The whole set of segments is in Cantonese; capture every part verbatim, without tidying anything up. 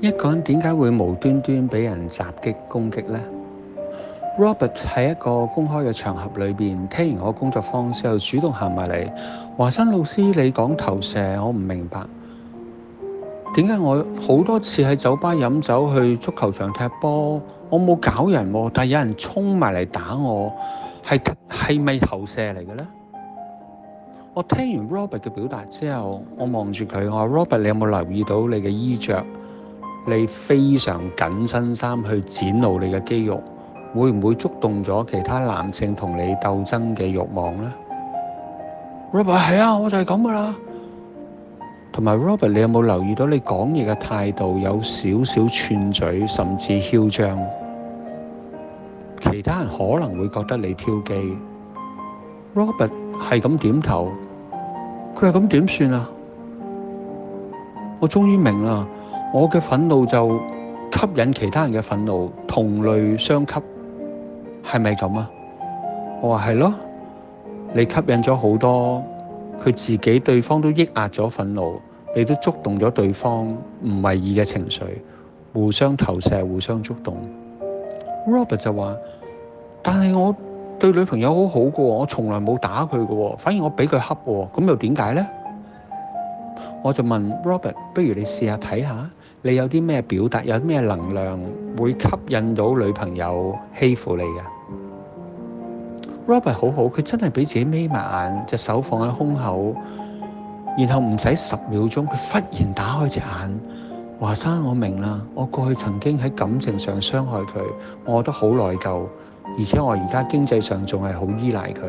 一個人點解會無端端俾人襲擊攻擊呢？ Robert 喺一個公開嘅場合裏邊，聽完我工作坊之後，主動行埋嚟，華山老師，你講投射，我唔明白點解我好多次喺酒吧飲酒，去足球場踢波，我冇搞人，但係有人衝埋嚟打我，係係咪投射嚟嘅呢？我聽完 Robert 嘅表達之後，我望住佢，我話 Robert，你有冇留意到你嘅衣着？你非常緊身衫去展露你嘅肌肉，會唔會觸動咗其他男性同你鬥爭嘅慾望呢？ Robert 係啊，我就係咁噶啦。同埋 Robert，你有冇留意到你講嘢嘅態度有少少串嘴，甚至囂張？其他人可能會覺得你挑機。Robert 係咁點頭，佢係咁點算啊？我終於明啦，我嘅憤怒就吸引其他人嘅憤怒，同類相吸，係咪咁啊？我話係咯，你吸引咗好多佢自己對方都抑壓咗憤怒，你都觸動咗對方唔為意嘅情緒，互相投射，互相觸動。Robert 就話，但係我對女朋友好好嘅，我從來冇打佢嘅，反而我俾佢恰，咁又點解呢？我就問 Robert， 不如你試下睇下，你有啲咩表達，有啲咩能量會吸引到女朋友欺負你嘅？ Robert 好好，佢真係俾自己眯埋眼，隻手放喺胸口，然後唔使十秒鐘，佢忽然打開隻眼。華山，我明啦，我過去曾經喺感情上傷害佢，我覺得好內疚，而且我而家經濟上仲係好依賴佢。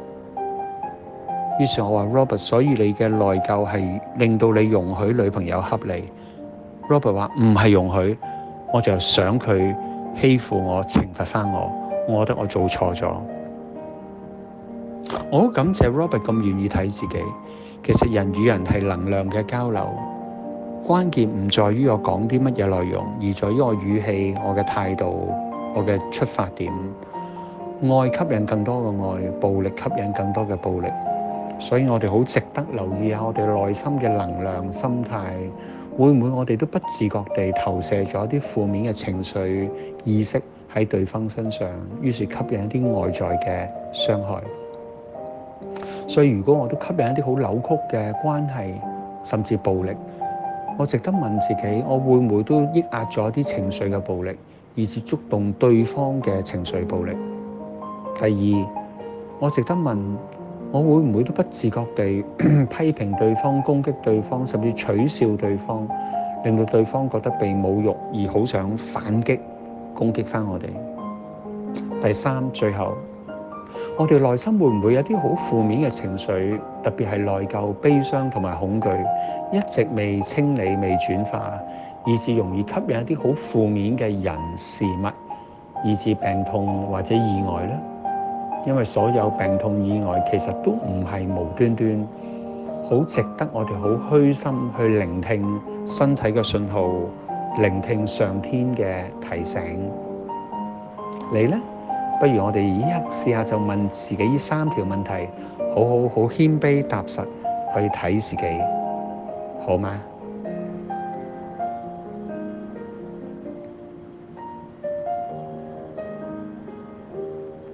於是我話 Robert， 所以你嘅內疚係令到你容許女朋友恰你。Robert 話唔係容許，我就想佢欺負我，懲罰翻我，我覺得我做錯咗。我好感謝 Robert 咁願意睇自己。其實人與人係能量嘅交流，關鍵唔在於我講啲乜嘢內容，而在於我語氣、我嘅態度、我嘅出發點。愛吸引更多嘅愛，暴力吸引更多嘅暴力。所以我哋好值得留意下我哋內心嘅能量、心態，會唔會我哋都不自覺地投射咗啲負面嘅情緒意識喺對方身上，於是吸引一啲外在嘅傷害。所以如果我都吸引一啲好扭曲嘅關係，甚至暴力，我值得問自己，我會唔會都抑壓咗啲情緒嘅暴力，以致觸動對方嘅情緒暴力？第二，我值得問，我會唔會都不自覺地批評對方、攻擊對方，甚至取笑對方，令到對方覺得被侮辱而好想反擊、攻擊返我哋？第三，最後，我哋內心會唔會有啲好負面嘅情緒，特別係內疚、悲傷同埋恐懼，一直未清理、未轉化，以致容易吸引一啲好負面嘅人事物，以致病痛或者意外呢？因為所有病痛意外其實都唔係無端端，好值得我哋好虛心去聆聽身體嘅信號，聆聽上天嘅提醒。你呢？不如我哋依家試下就問自己呢三條問題，好好好謙卑踏實去睇自己，好嗎？